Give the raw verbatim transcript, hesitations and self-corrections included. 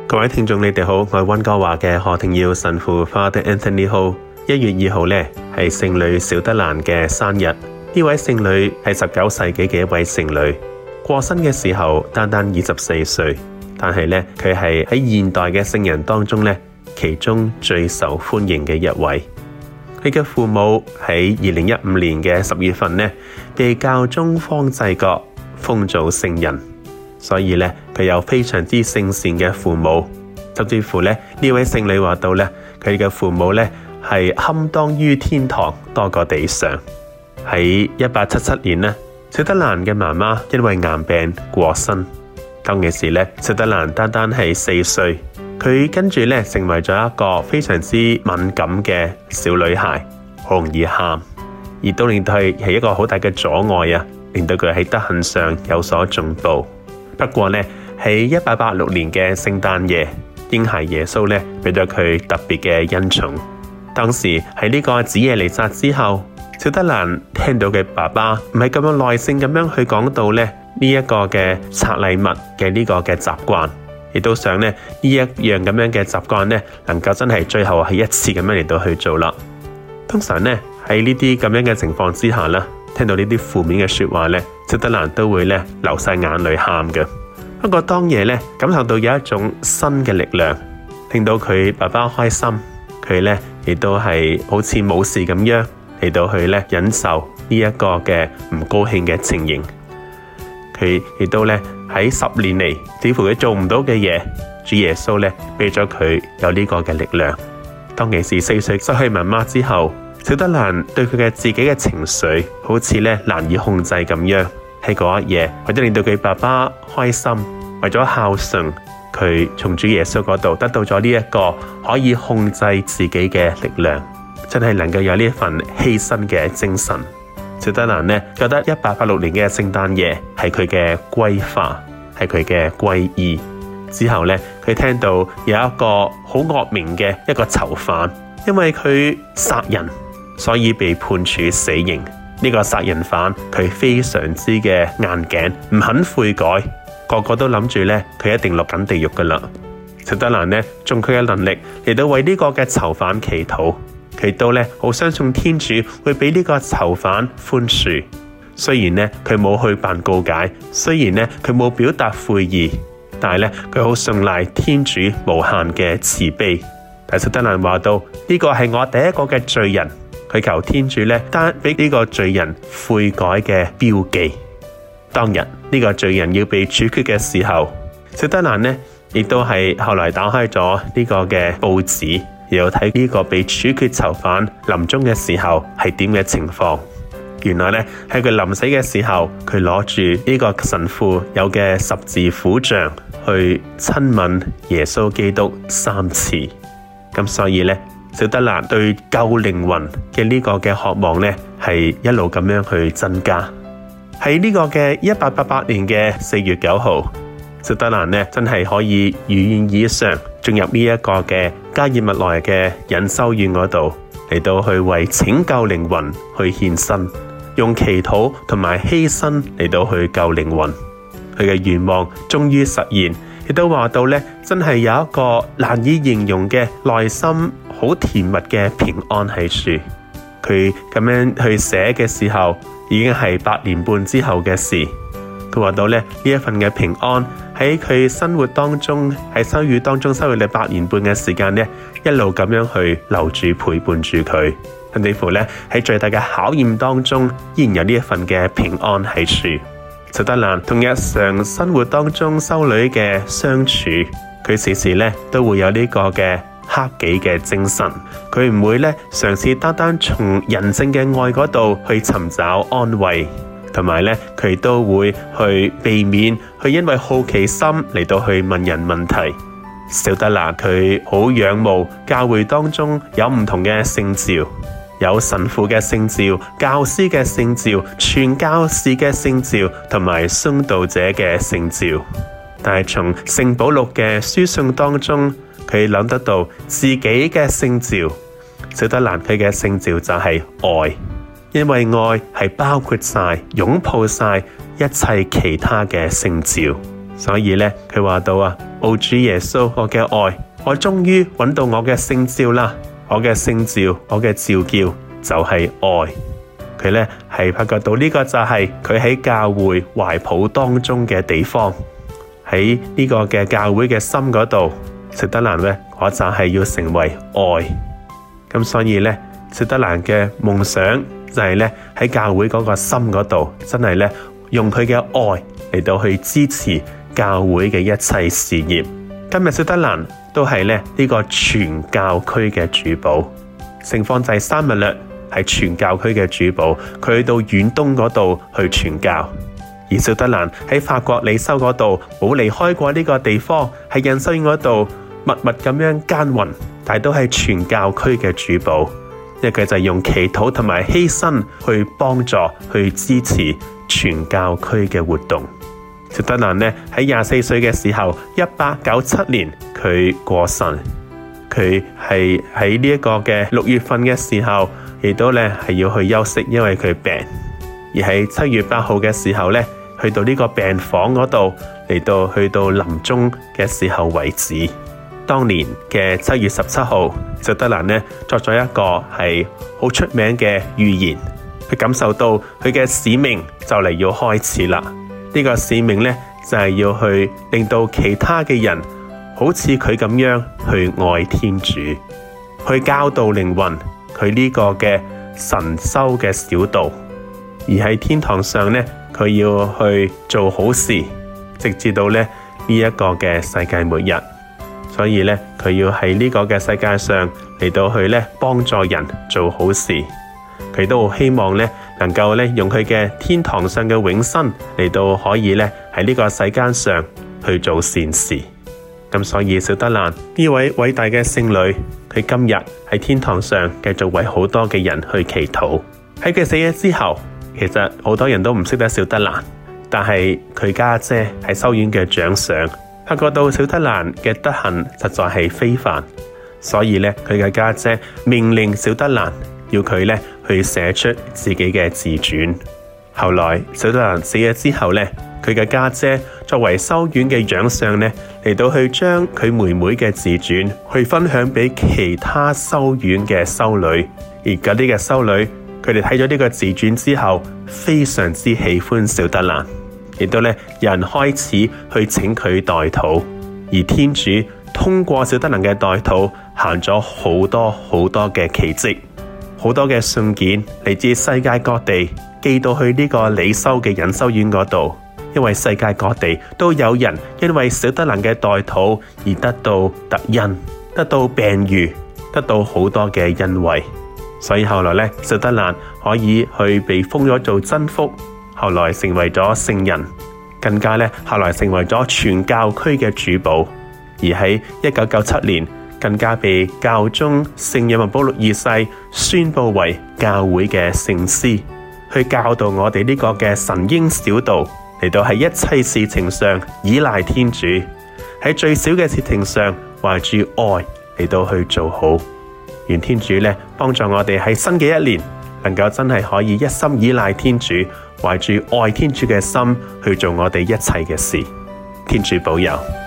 各位聽眾，你哋好，我係溫哥華嘅何庭耀神父 Father Anthony Ho。一月二號呢係聖女小德蘭嘅生日。呢位聖女係十九世紀嘅一位聖女，過身嘅時候單單二十四歲，但係呢佢係喺現代嘅聖人當中呢其中最受歡迎嘅一位。佢嘅父母喺二零一五年嘅十月份呢被教宗方濟各封做聖人。所以咧，佢有非常之聖善嘅父母，甚至乎咧呢位聖女話到咧，佢嘅父母咧係堪當於天堂多過地上。喺一八七七年呢，小德蘭嘅媽媽因為癌病過身。當其時咧，小德蘭單單係四歲，佢跟住咧成為咗一個非常之敏感嘅小女孩，好容易喊，而都令到佢係一個好大嘅阻礙啊，令到佢喺德行上有所進步。不過呢，喺一八八六年嘅聖誕夜，嬰孩耶穌呢俾咗佢特別嘅恩寵。當時喺呢個子夜彌撒之後，小德蘭聽到嘅爸爸唔係咁樣耐性咁樣去講到呢呢一個嘅拆禮物嘅呢個嘅習慣，亦都想呢呢一樣咁樣嘅習慣呢能夠真係最後係一次咁樣嚟到去做啦。通常呢喺呢啲咁樣嘅情況之下呢，聽到呢啲負面嘅說話呢，小德蘭都會咧流晒眼淚喊嘅。不過當夜咧感受到有一種新嘅力量，令到佢爸爸開心，佢咧亦都係好似冇事咁樣嚟到去咧忍受呢一個嘅唔高興嘅情形。佢亦都咧喺十年嚟，似乎佢做唔到嘅嘢，主耶穌咧俾咗佢有呢個嘅力量。當其時四歲失去媽媽之後，小德蘭對佢嘅自己嘅情緒好似咧難以控制咁樣，喺嗰一夜為咗令到佢爸爸開心，為咗孝順，佢從主耶穌嗰度得到咗呢一個可以控制自己嘅力量，真係能夠有呢一份犧牲嘅精神。小德蘭呢覺得一八八六年嘅聖誕夜係佢嘅歸化，係佢嘅歸依。之後呢，佢聽到有一個好惡名嘅一個囚犯，因為佢殺人，所以被判處死刑。呢個殺人犯佢非常之嘅硬頸，唔肯悔改，個個都諗住咧佢一定落緊地獄噶啦。小德蘭呢，盡佢嘅能力嚟到為呢個嘅囚犯祈禱，佢都咧好相信天主會俾呢個囚犯寬恕。雖然呢，佢冇去辦告解，雖然呢，佢冇表達悔意，但係咧佢好信賴天主無限嘅慈悲。但小德蘭話到呢個係我第一個嘅罪人。佢求天主咧，單俾呢個罪人悔改嘅標記。當日呢、這個罪人要被處決嘅時候，小德蘭呢亦都係後來打開咗呢個嘅報紙，然後睇呢個被處決囚犯臨終嘅時候係點嘅情況。原來咧喺佢臨死嘅時候，佢攞住呢個神父有嘅十字苦像去親吻耶穌基督三次。咁所以咧，小德蘭對救靈魂嘅呢個嘅渴望呢，係一路咁樣去增加。喺呢個嘅一八八八年嘅四月九號，小德蘭呢真係可以如願以償進入呢一個嘅加爾默萊嘅隱修院嗰度，嚟到去為拯救靈魂去獻身，用祈禱同埋犧牲嚟到去救靈魂。佢嘅願望終於實現，亦都話到呢，真係有一個難以形容嘅內心好甜蜜嘅平安喺處。佢咁樣去寫嘅時候，已經係八年半之後嘅事。佢話到咧，呢一份嘅平安喺佢生活當中，喺修院當中修咗八年半嘅時間咧，一路咁樣去留住陪伴住佢。甚至乎咧喺最大嘅考驗當中，依然有呢一份嘅平安喺處。小德蘭同日常生活當中修女嘅相處，佢時時咧都會有呢個嘅克己嘅精神。佢唔會咧嘗試單單從人性嘅愛嗰度去尋找安慰，同埋咧佢都會去避免去因為好奇心嚟到去問人問題。小德蘭佢好仰慕教會當中有唔同嘅聖召，有神父嘅聖召、教師嘅聖召、傳教士嘅聖召同埋殉道者嘅聖召。但係從聖保祿嘅書信當中，佢諗得到自己嘅聖召。小德蘭佢嘅聖召就係愛，因為愛係包括晒、擁抱晒一切其他嘅聖召。 所以咧，佢話到啊，ô主耶穌，我嘅愛，我終於揾到我嘅聖召啦！我嘅聖召，我嘅召叫就係愛。佢咧係發覺到呢個就係佢喺教會懷抱當中嘅地方，喺呢個嘅教會嘅心嗰度，小德蘭咧，我就係要成為愛。咁所以咧，小德蘭嘅夢想就係咧喺教會嗰個心嗰度，真係咧用佢嘅愛嚟到去支持教會嘅一切事業。今日小德蘭都係咧呢個全教區嘅主保，聖方濟沙勿略係全教區嘅主保，佢去到遠東嗰度去傳教。而小德蘭喺法國利修嗰度冇離開過呢個地方，喺隱修院嗰度默默咁樣耕耘，但係都係全教區嘅主保，因為佢就係用祈禱同埋犧牲去幫助、去支持全教區嘅活動。小德蘭呢喺廿四歲嘅時候，一八九七年佢過世。佢係喺呢一個嘅六月份嘅時候，亦都咧係要去休息，因為佢病。而喺七月八號嘅時候咧，去到呢個病房嗰度，嚟到去到臨終嘅時候為止。當年嘅七月十七號，小德蘭呢作咗一個係好出名嘅預言，佢感受到佢嘅使命就嚟要開始啦。呢個使命呢，就係要去令到其他嘅人好似佢咁樣去愛天主，去教導靈魂，佢呢個嘅神修嘅小道。而喺天堂上呢，佢要去做好事，直至到咧呢一個嘅世界末日。所以呢，佢要喺呢個嘅世界上嚟到去咧幫助人做好事。佢都好希望咧能夠咧用佢嘅天堂上嘅永生嚟到可以咧喺呢個世間上去做善事。咁所以小德蘭呢位偉大嘅聖女，佢今日喺天堂上繼續為好多嘅人去祈禱。喺佢死咗之後，其實好多人都唔識得小德蘭，但係佢家姐係修院嘅長上，發覺到小德蘭嘅德行實在係非凡，所以咧佢嘅家姐命令小德蘭要佢咧去寫出自己嘅自傳。後來小德蘭死咗之後咧，佢嘅家姐作為修院嘅長上咧，嚟到去將佢妹妹嘅自傳去分享俾其他修院嘅修女，而嗰啲嘅修女佢哋睇咗呢個自傳之後，非常之喜歡小德蘭，亦都咧有人開始去請佢代禱，而天主通過小德蘭嘅代禱行咗好多好多嘅奇蹟。好多嘅信件嚟自世界各地寄到去呢個理修嘅隱修院嗰度，因為世界各地都有人因為小德蘭嘅代禱而得到特恩，得到病癒，得到好多嘅恩惠。所以後來咧，小德蘭可以去被封咗做真福，後來成為咗聖人，更加咧後來成為咗全教區嘅主保。而喺一九九七年，更加被教宗聖若望保祿二世宣布為教會嘅聖師，去教導我哋呢個嘅神嬰小道，嚟到喺一切事情上依賴天主，喺最小嘅事情上懷住愛嚟到去做好。願天主咧幫助我哋喺新嘅一年，能夠真係可以一心依賴天主，懷住愛天主嘅心去做我哋一切嘅事。天主保佑。